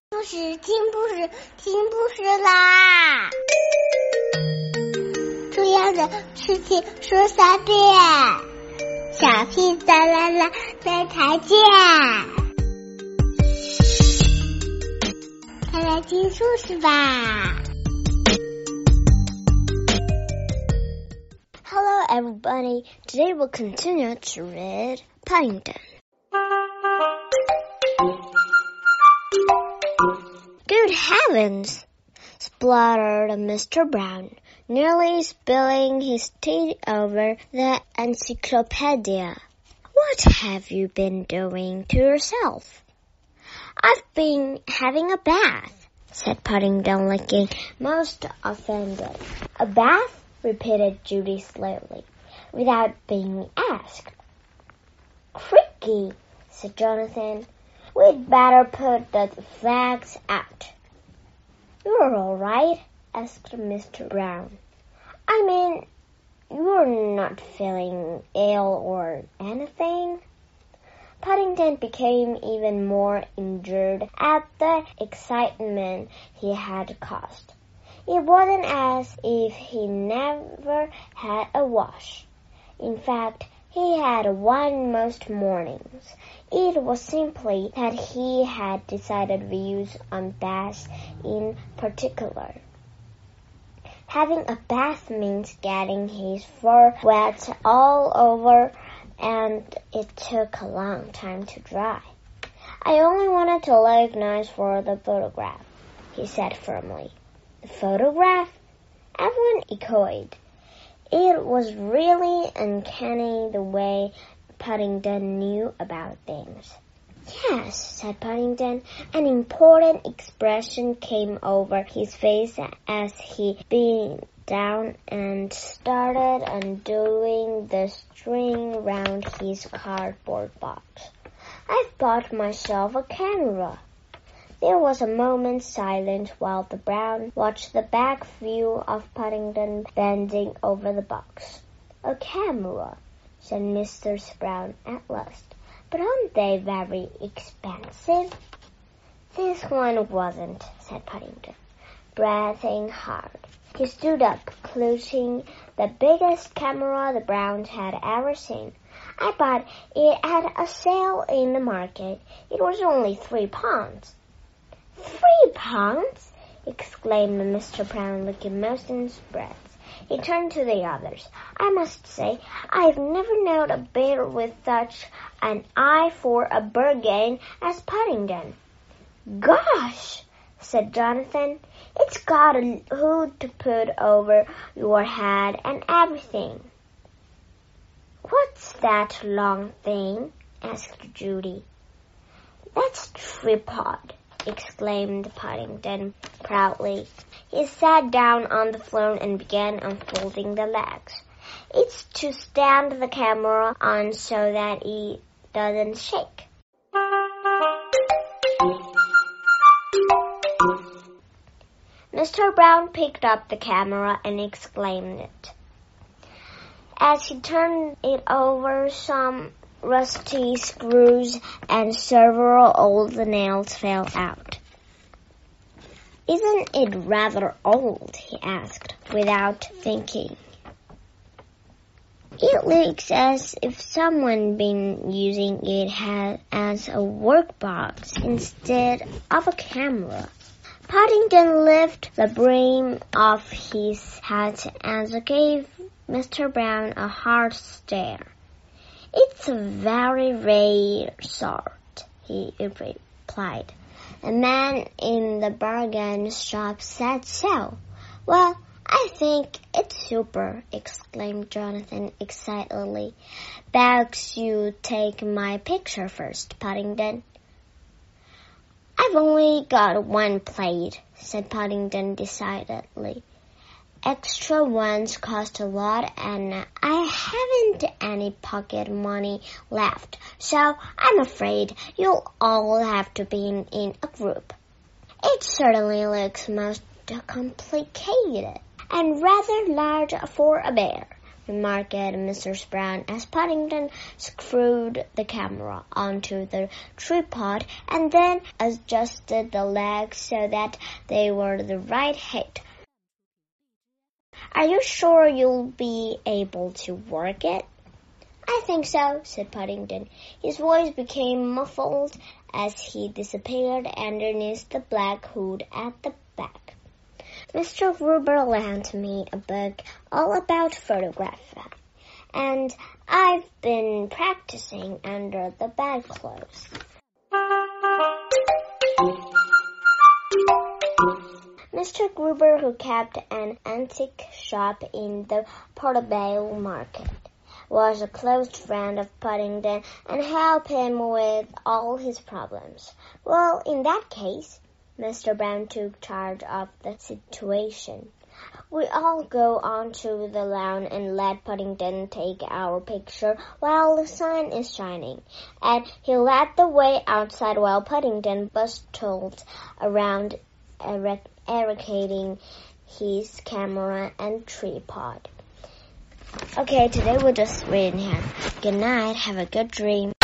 故事，听故事，听故事啦！重要的事情说3遍，小屁哒啦啦，明天见！快来听故事吧 Hello everybody, today we'll continue to read Paddington. Good heavens! Spluttered Mr. Brown, nearly spilling his tea over the encyclopedia. What have you been doing to yourself? I've been having a bath, said Paddington, looking most offended. A bath? Repeated Judy slowly, without being asked. Cricky, said Jonathan. We'd better put the flags out. You're all right? Asked Mr. Brown. I mean, you're not feeling ill or anything? Paddington became even more injured at the excitement he had caused. It wasn't as if he never had a wash. In fact, he had one most mornings. It was simply that he had decided views on baths in particular. Having a bath means getting his fur wet all over, and it took a long time to dry. I only wanted to look nice for the photograph, he said firmly. The photograph? Everyone echoed. It was really uncanny the way Paddington knew about things. Yes, said Paddington. An important expression came over his face as he bent down and started undoing the string round his cardboard box. I've bought myself a camera. There was a moment's silence while the Brown watched the back view of Paddington bending over the box. A camera, said Mr. Brown at last. But aren't they very expensive? This one wasn't, said Paddington, breathing hard. He stood up, clutching the biggest camera the Browns had ever seen. I bought it at a sale in the market. It was only £3. £3? Exclaimed Mr. Brown, looking most in breath. He turned to the others. I must say, I've never known a bear with such an eye for a bargain as Paddington. Gosh, said Jonathan, it's got a hood to put over your head and everything. What's that long thing? Asked Judy. That's tripod, exclaimed Paddington proudly. He sat down on the floor and began unfolding the legs. It's to stand the camera on so that it doesn't shake. Mr. Brown picked up the camera and exclaimed it. As he turned it over, some rusty screws and several old nails fell out. Isn't it rather old? He asked, without thinking. It looks as if someone been using it as a workbox instead of a camera. Paddington lifted the brim of his hat and gave Mr. Brown a hard stare. It's a very rare sort, he replied. A man in the bargain shop said so. Well, I think it's super, exclaimed Jonathan excitedly. Begs you take my picture first, Paddington. I've only got one plate, said Paddington decidedly. Extra ones cost a lot, and I haven't any pocket money left, so I'm afraid you'll all have to be in a group. It certainly looks most complicated and rather large for a bear, remarked Mrs. Brown as Paddington screwed the camera onto the tripod and then adjusted the legs so that they were the right height. "Are you sure you'll be able to work it?" "I think so," said Paddington. His voice became muffled as he disappeared underneath the black hood at the back. "Mr. Gruber lent me a book all about photography, and I've been practicing under the bedclothes." Mr. Gruber, who kept an antique shop in the Portobello Market, was a close friend of Paddington and helped him with all his problems. "Well, in that case," Mr. Brown took charge of the situation, "we all go on to the lawn and let Paddington take our picture while the sun is shining." And he led the way outside while Paddington bustled around eradicating his camera and tripod. Okay, today we'll just read in here. Good night. Have a good dream.